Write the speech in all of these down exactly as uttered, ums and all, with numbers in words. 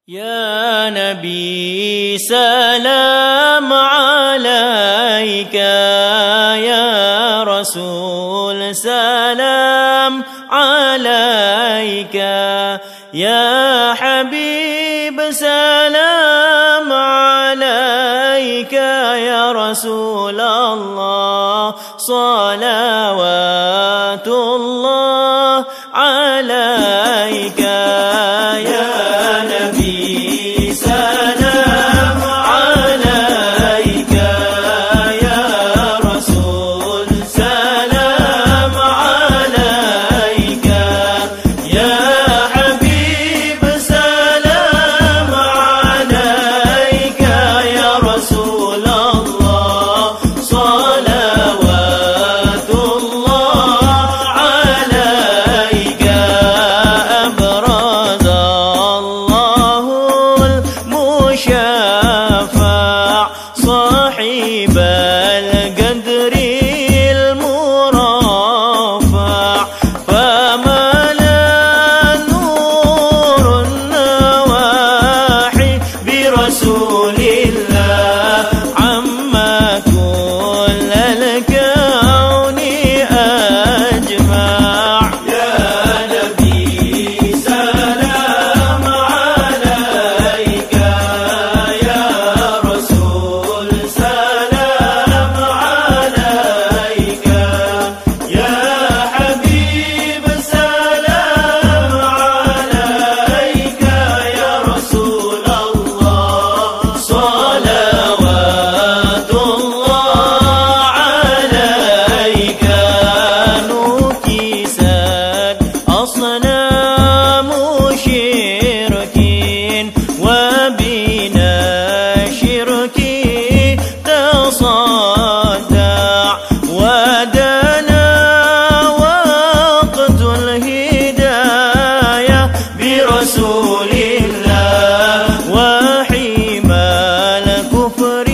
يا نبي سلام عليك، يا رسول سلام عليك، يا حبيب سلام عليك، يا رسول الله صلوات الله عليك. يا نبي سلام عليك، يا رسول سلام عليك، يا حبيب سلام عليك، يا رسول الله صلوات الله عليك. أبرز الله المشفع صاحب القدر المرفع، فملا نور النواحي برسول الله، عما كل الكون أجمع. يا نبي سلام عليك، يا رسول سلام عليك، يا حبيب سلام عليك، يا رسول الله صلوات الله عليك. نكست أصنام شركين وبنا شرك تصدع، ودنا وقت الهداية برسول الله، وحيما الكفر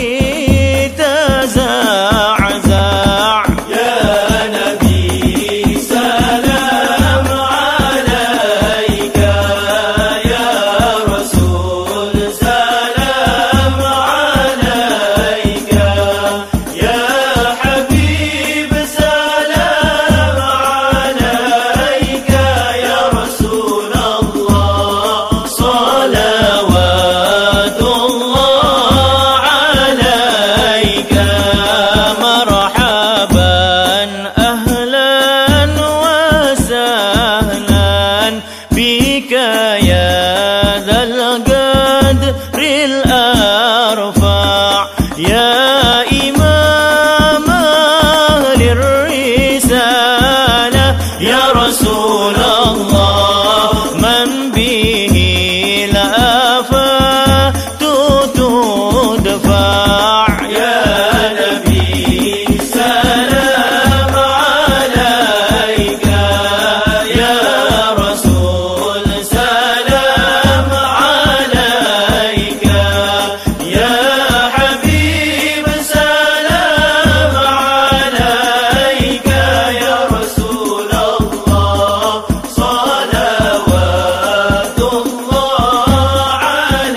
تزعزع. يا نبي سلام عليك، يا رسول سلام عليك، يا حبيب سلام عليك، يا رسول الله صلوات الله عليك. مرحبا أهلا وسهلا بك يا ذا القدر الأرفع، يا إمام أهل الرسالة، يا رسول الله من به الآفات تدفع. يا نبي سلام عليك، يا رسول سلام عليك، يا حبيب سلام عليك، يا رسول الله صلوات الله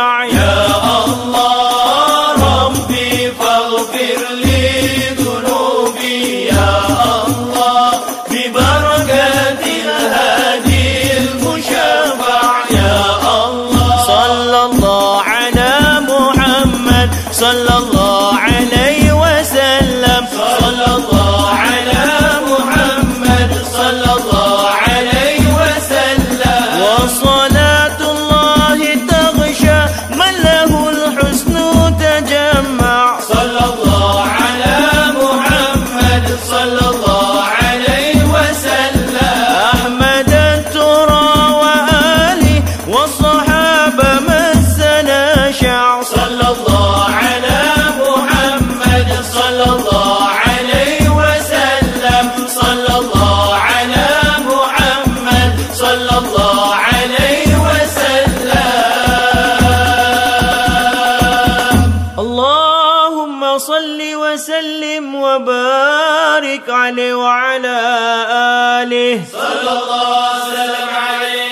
المشفع يا الله ربي فاغفر لي ذنوبي يا الله ببركة الهادي المشفع يا الله صلى الله على محمد صلى الله عليه وسلم صلى الله على محمد صلى الله عليه وسلم وصلاة الله تغشى من له الحسن تجمع صلى الله على محمد صلى الله عليه وسلم أحمد الترى وآله والصحابة مسنا شع صلى الله على محمد صلى الله عليه وسلم صلى الله على محمد صلى الله عليه وسلم اللهم صل وسلم وبارك عليه وعلى آله صلى الله وسلم عليه